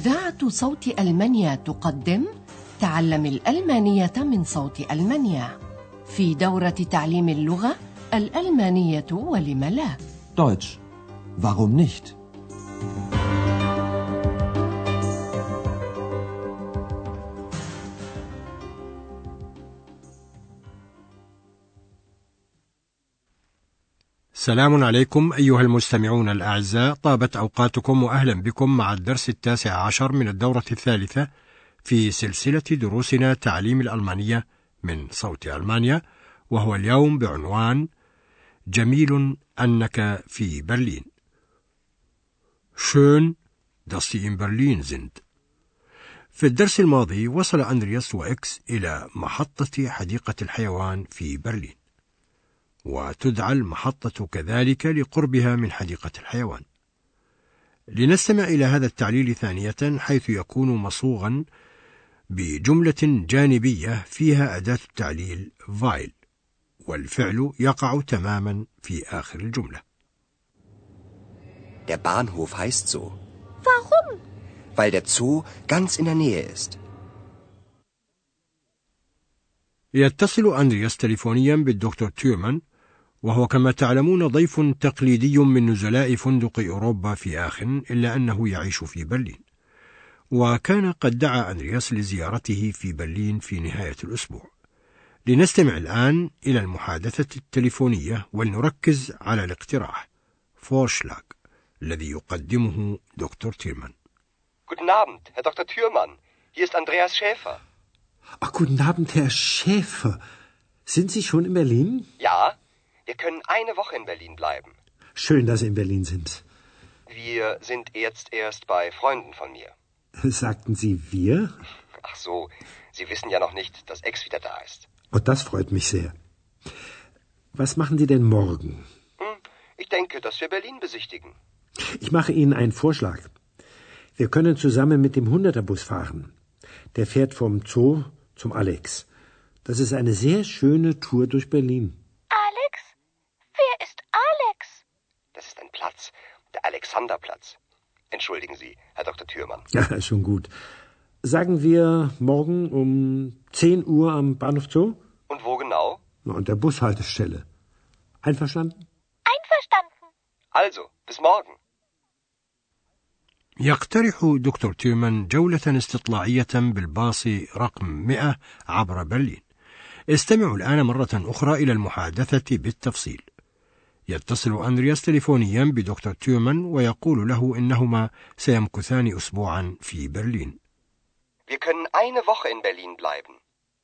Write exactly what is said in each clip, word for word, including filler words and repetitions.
إذاعة صوت ألمانيا تقدم تعلم الألمانية من صوت ألمانيا في دورة تعليم اللغة الألمانية ولم لا. Deutsch. Warum nicht? سلام عليكم أيها المستمعون الأعزاء، طابت أوقاتكم وأهلا بكم مع الدرس التاسع عشر من الدورة الثالثة في سلسلة دروسنا تعليم الألمانية من صوت ألمانيا، وهو اليوم بعنوان جميل أنك في برلين. Schön, dass Sie in Berlin sind. في الدرس الماضي وصل أندرياس وإكس إلى محطة حديقة الحيوان في برلين، وتدعى المحطة كذلك لقربها من حديقة الحيوان. لنستمع إلى هذا التعليل ثانية، حيث يكون مصوغا بجملة جانبية فيها أداة التعليل weil، والفعل يقع تماما في آخر الجملة. Der Bahnhof heißt so. Warum? Weil der Zoo ganz in der Nähe ist. يتصل أندرياس تليفونيا بالدكتور تيرمان، وهو كما تعلمون ضيف تقليدي من نزلاء فندق أوروبا في آخن، إلا أنه يعيش في برلين، وكان قد دعا أندرياس لزيارته في برلين في نهاية الأسبوع. لنستمع الآن إلى المحادثة التليفونية ولنركز على الاقتراح Vorschlag الذي يقدمه دكتور تيرمان. Guten Abend, Herr Doktor Thürmann. Hier ist Andreas Schäfer. Ach, guten Abend, Herr Schäfer. Sind Sie schon in Berlin? Ja, wir können eine Woche in Berlin bleiben. Schön, dass Sie in Berlin sind. Wir sind jetzt erst bei Freunden von mir. Sagten Sie wir? Ach so, Sie wissen ja noch nicht, dass Ex wieder da ist. Oh, das freut mich sehr. Was machen Sie denn morgen? Hm, ich denke, dass wir Berlin besichtigen. Ich mache Ihnen einen Vorschlag. Wir können zusammen mit dem Hunderterbus fahren. Der fährt vom Zoo zum Alex. Das ist eine sehr schöne Tour durch Berlin. Alex? Wer ist Alex? Das ist ein Platz, der Alexanderplatz. Entschuldigen Sie, Herr Doktor Thürmann. Ja, schon gut. Sagen wir morgen um zehn Uhr am Bahnhof Zoo? Und wo genau? Na, an der Bushaltestelle. Einverstanden? Einverstanden. Also, bis morgen. يقترح دكتور تيرمان جولة استطلاعية بالباص رقم مئة عبر برلين. استمعوا الآن مرة أخرى إلى المحادثة بالتفصيل. يتصل أندرياس تليفونيا بدكتور تيرمان ويقول له إنهما سيمكثان أسبوعا في برلين. Wir können eine Woche in Berlin bleiben.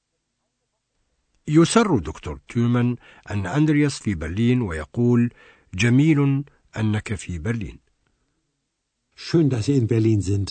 يسر دكتور تيرمان أن أندرياس في برلين ويقول جميل أنك في برلين. Schön, dass Sie in Berlin sind.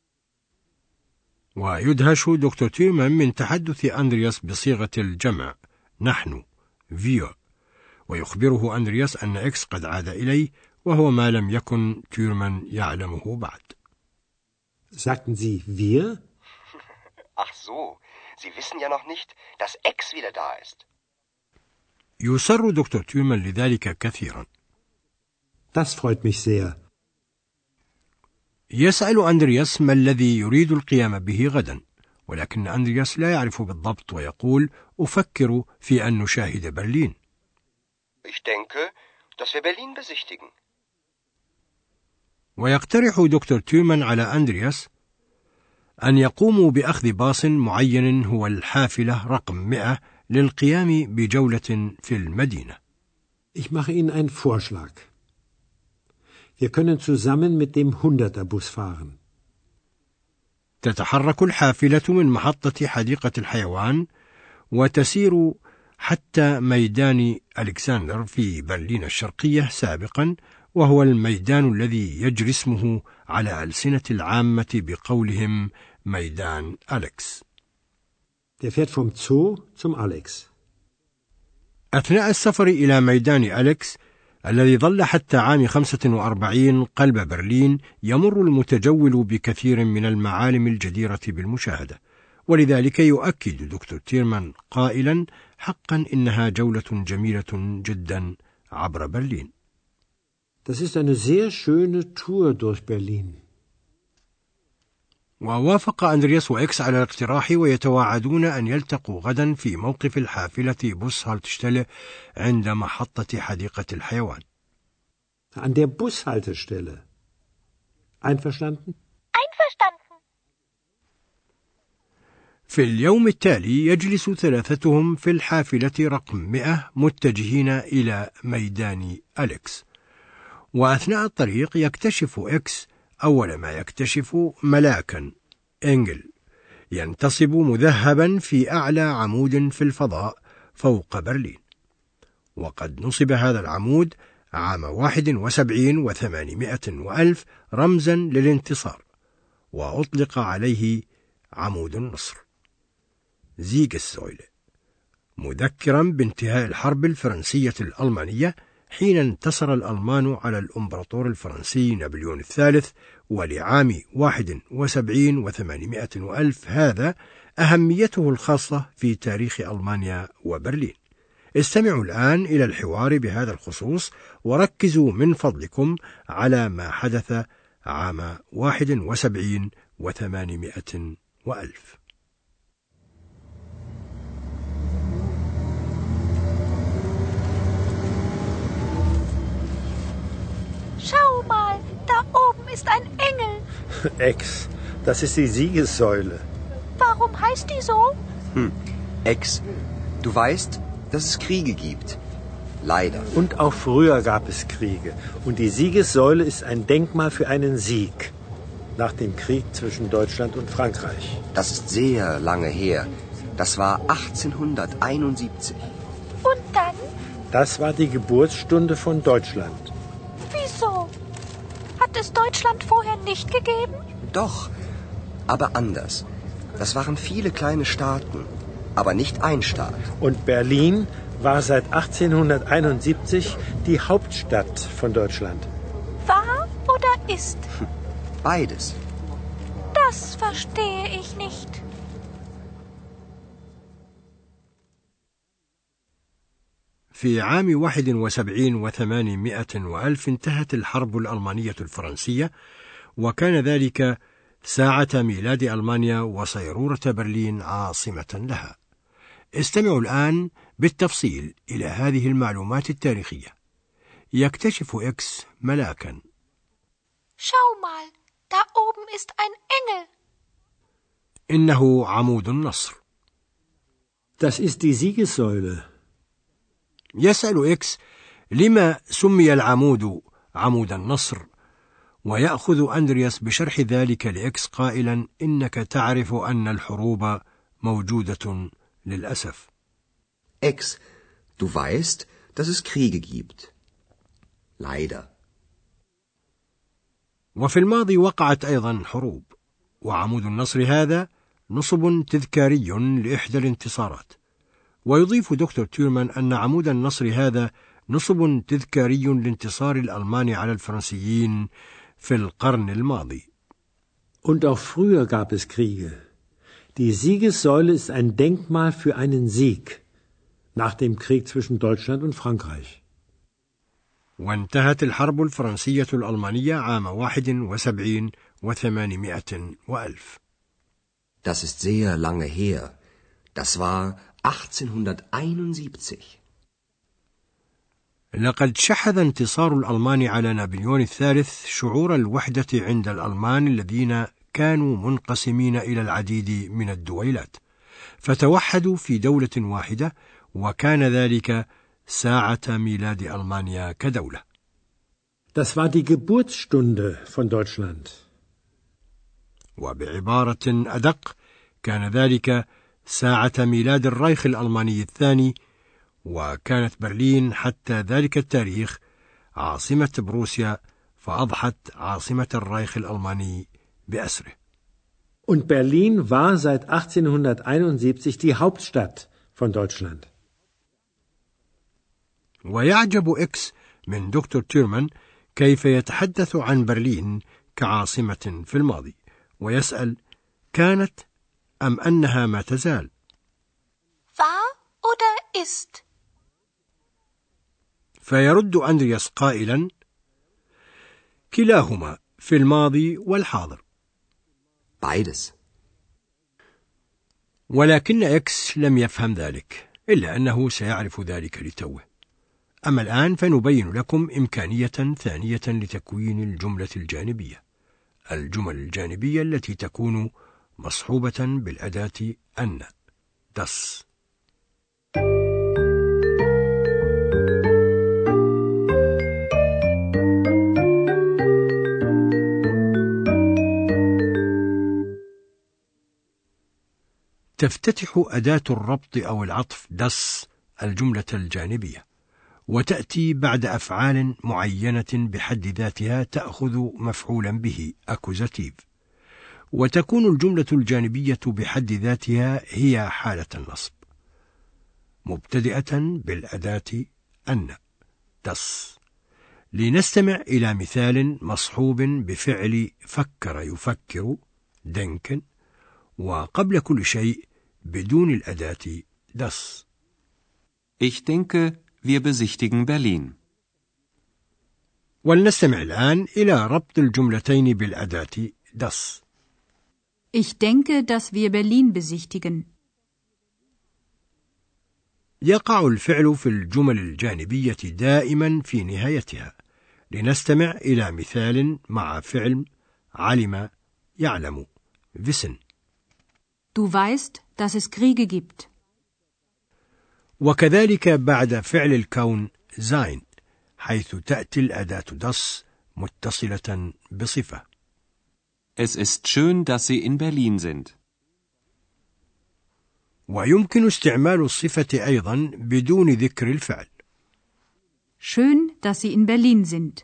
ويدهش دكتور تيرمان من تحدث أندرياس بصيغة الجمع نحن wir، ويخبره أندرياس أن إكس قد عاد إليه، وهو ما لم يكن تيرمان يعلمه بعد. Sagten Sie wir? Ach so, Sie wissen ja noch nicht, dass Ex wieder da ist. يسر دكتور تيرمان لذلك كثيرا. Das freut mich sehr. يسأل أندرياس ما الذي يريد القيام به غدا، ولكن أندرياس لا يعرف بالضبط، ويقول أفكر في أن نشاهد برلين. Ich denke, dass wir Berlin besichtigen. ويقترح دكتور تيرمان على أندرياس أن يقوموا بأخذ باص معين هو الحافلة رقم مئة للقيام بجولة في المدينة. Ich mache Ihnen einen Vorschlag. Wir können zusammen mit dem Hunderterbus fahren. تتحرك الحافلة من محطة حديقة الحيوان وتسير حتى ميدان ألكسندر في برلين الشرقية سابقا، وهو الميدان الذي يجري اسمه على ألسنة العامة بقولهم ميدان أليكس. Der fährt vom Zoo zum Alex. أثناء السفر إلى ميدان أليكس الذي ظل حتى عام خمسة وأربعين قلب برلين، يمر المتجول بكثير من المعالم الجديرة بالمشاهدة، ولذلك يؤكد دكتور تيرمان قائلا حقا إنها جولة جميلة جدا عبر برلين. Das ist eine sehr schöne Tour durch Berlin. ووافق أندرياس وإكس على الاقتراح، ويتواعدون أن يلتقوا غدا في موقف الحافلة بوسهالتشتelle عند محطة حديقة الحيوان. An der Bushaltestelle. Einverstanden? Einverstanden. في اليوم التالي يجلس ثلاثتهم في الحافلة رقم مئة متجهين إلى ميدان أليكس، وأثناء الطريق يكتشف إكس أول ما يكتشف ملاكا إنجل ينتصب مذهبا في أعلى عمود في الفضاء فوق برلين، وقد نصب هذا العمود عام واحد وسبعين وثمانمائة وألف رمزا للانتصار، وأطلق عليه عمود النصر زيغسويله، مذكرا بانتهاء الحرب الفرنسية الألمانية حين انتصر الألمان على الإمبراطور الفرنسي نابليون الثالث. ولعام واحد وسبعين وثمانمائة وألف هذا أهميته الخاصة في تاريخ ألمانيا وبرلين. استمعوا الآن إلى الحوار بهذا الخصوص، وركزوا من فضلكم على ما حدث عام واحد وسبعين وثمانمائة وألف. Schau mal, da oben ist ein Engel. Ex, das ist die Siegessäule. Warum heißt die so? Hm, Ex, du weißt, dass es Kriege gibt. Leider. Und auch früher gab es Kriege. Und die Siegessäule ist ein Denkmal für einen Sieg. Nach dem Krieg zwischen Deutschland und Frankreich. Das ist sehr lange her. Das war achtzehnhunderteinundsiebzig. Und dann? Das war die Geburtsstunde von Deutschland. Wieso? Hat es Deutschland vorher nicht gegeben? Doch, aber anders. Das waren viele kleine Staaten, aber nicht ein Staat. Und Berlin war seit achtzehnhunderteinundsiebzig die Hauptstadt von Deutschland. War oder ist? Beides. Das verstehe ich nicht. في عام واحد وسبعين وثمانمائة وألف انتهت الحرب الألمانية الفرنسية، وكان ذلك ساعة ميلاد ألمانيا وصيرورة برلين عاصمة لها. استمعوا الآن بالتفصيل إلى هذه المعلومات التاريخية. يكتشف إكس ملاكا. Schau mal, da oben ist ein Engel. إنه عمود النصر. Das ist die Siegessäule. يسأل إكس لما سمي العمود عمود النصر، ويأخذ أندرياس بشرح ذلك لإكس قائلا: إنك تعرف أن الحروب موجودة للأسف. Ex, du weißt, dass es Kriege gibt. Leider. وفي الماضي وقعت أيضا حروب، وعمود النصر هذا نصب تذكاري لإحدى الانتصارات. ويضيف دكتور تيرمان أن عمود النصر هذا نصب تذكاري لانتصار الألمان على الفرنسيين في القرن الماضي. Und auch früher gab es Kriege. Die Siegessäule ist ein Denkmal für einen Sieg nach dem Krieg zwischen Deutschland und Frankreich. وانتهت الحرب الفرنسية الألمانية عام واحد وسبعين وثمانمائة وألف. Das ist sehr lange her. Das war achtzehnhunderteinundsiebzig. لقد شحذ انتصار الألمان على نابليون الثالث شعور الوحدة عند الألمان الذين كانوا منقسمين إلى العديد من الدويلات، فتوحدوا في دولة واحدة، وكان ذلك ساعة ميلاد ألمانيا كدولة. Das war die Geburtsstunde von Deutschland. وبعبارة أدق، كان ذلك ساعة ميلاد الرايخ الألماني الثاني، وكانت برلين حتى ذلك التاريخ عاصمة بروسيا، فأضحت عاصمة الرايخ الألماني بأسره. Und Berlin war seit achtzehnhunderteinundsiebzig die Hauptstadt von Deutschland. ويعجب إكس من دكتور تيرمان كيف يتحدث عن برلين كعاصمة في الماضي، ويسأل: كانت أم أنها ما تزال؟ War oder ist? فيرد أندرياس قائلا: كلاهما في الماضي والحاضر. Beides. ولكن إكس لم يفهم ذلك، إلا أنه سيعرف ذلك لتوه. أما الآن فنبين لكم إمكانية ثانية لتكوين الجملة الجانبية، الجمل الجانبية التي تكون مصحوبة بالأداة أن، das. تفتتح أداة الربط أو العطف das الجملة الجانبية، وتأتي بعد أفعال معينة بحد ذاتها تأخذ مفعولا به أكوزاتيف، وتكون الجملة الجانبية بحد ذاتها هي حالة النصب مبتدئة بالأداة أن das. لنستمع إلى مثال مصحوب بفعل فكر يفكر denken، وقبل كل شيء بدون الأداة das. Ich denke, wir besichtigen Berlin. ولنستمع الآن إلى ربط الجملتين بالأداة das. Ich denke, dass wir Berlin besichtigen. يقع الفعل في الجمل الجانبية دائما في نهايتها. لنستمع إلى مثال مع فعل علم يعلم wissen. Du weißt, dass es Kriege gibt. وكذلك بعد فعل الكون sein، حيث تأتي الأداة das متصلة بصفة. Es ist schön, dass Sie in Berlin sind. ويمكن استعمال الصفة أيضا بدون ذكر الفعل. Schön, dass Sie in Berlin sind.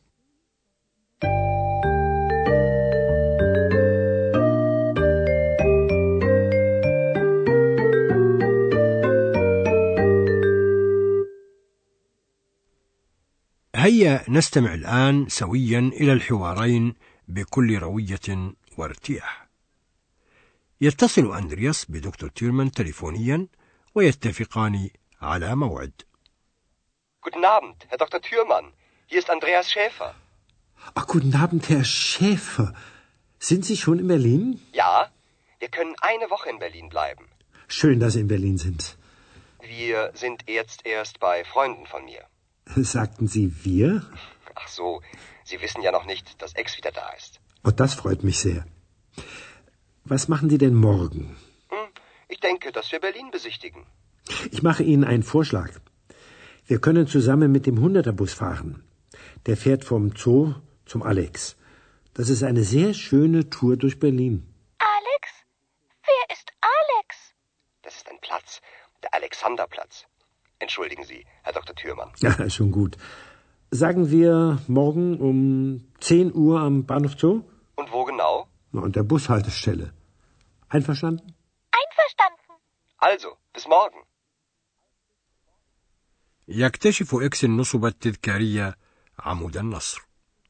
هيا نستمع الآن سويا إلى الحوارين بكل روية وارتياح. يتصل أندرياس بدكتور تيرمان تليفونيا ويتفقان على موعد. Guten Abend, Herr Doktor Thürmann. Hier ist Andreas Schäfer. Ach, guten Abend, Herr Schäfer. Sind Sie schon in Berlin? Ja, wir können eine Woche in Berlin bleiben. Schön, dass Sie in Berlin sind. Wir sind jetzt erst bei Freunden von mir. Sagten Sie wir? Ach so, Sie wissen ja noch nicht, dass Ex wieder da ist. Oh, das freut mich sehr. Was machen Sie denn morgen? Hm, ich denke, dass wir Berlin besichtigen. Ich mache Ihnen einen Vorschlag. Wir können zusammen mit dem Hunderterbus fahren. Der fährt vom Zoo zum Alex. Das ist eine sehr schöne Tour durch Berlin. Alex? Wer ist Alex? Das ist ein Platz, der Alexanderplatz. Entschuldigen Sie, Herr Doktor Thürmann. Ja, schon gut. Sagen wir morgen um zehn Uhr am Bahnhof Zoo? Und wo genau? Na, an der Bushaltestelle. Einverstanden? Einverstanden. Also, bis morgen. يكتشف إكس النصب التذكارية عمود النصر.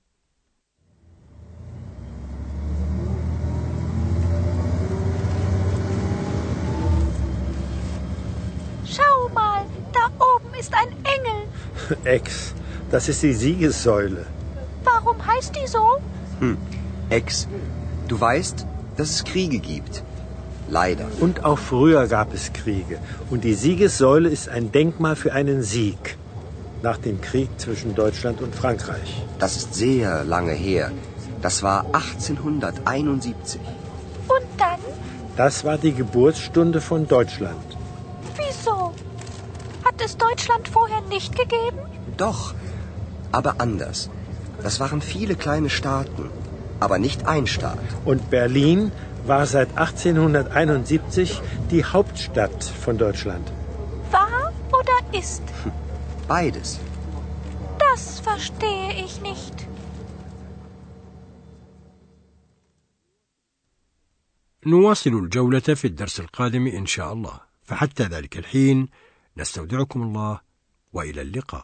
Schau mal, da oben ist ein Engel. Ex, das ist die Siegessäule. Warum heißt die so? Hm, Ex, du weißt, dass es Kriege gibt. Leider. Und auch früher gab es Kriege. Und die Siegessäule ist ein Denkmal für einen Sieg. Nach dem Krieg zwischen Deutschland und Frankreich. Das ist sehr lange her. Das war achtzehnhunderteinundsiebzig. Und dann? Das war die Geburtsstunde von Deutschland. Wieso? Hat es Deutschland vorher nicht gegeben? Doch, aber anders. Das waren viele kleine Staaten, aber nicht ein Staat. Und Berlin war seit achtzehnhunderteinundsiebzig die Hauptstadt von Deutschland. War oder ist? Beides. Das verstehe ich nicht. نواصل الجولة في الدرس القادم إن شاء الله، فحتى ذلك الحين نستودعكم الله وإلى اللقاء.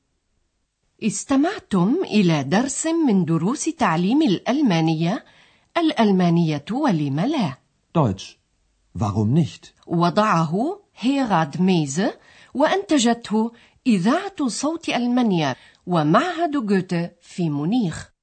استمعتم إلى درس من دروس تعليم الألمانية، الألمانية ولم لا. Deutsch. Warum nicht? وضعه هيراد ميزه وأنتجته إذاعة صوت ألمانيا ومعهد جوته في مونيخ.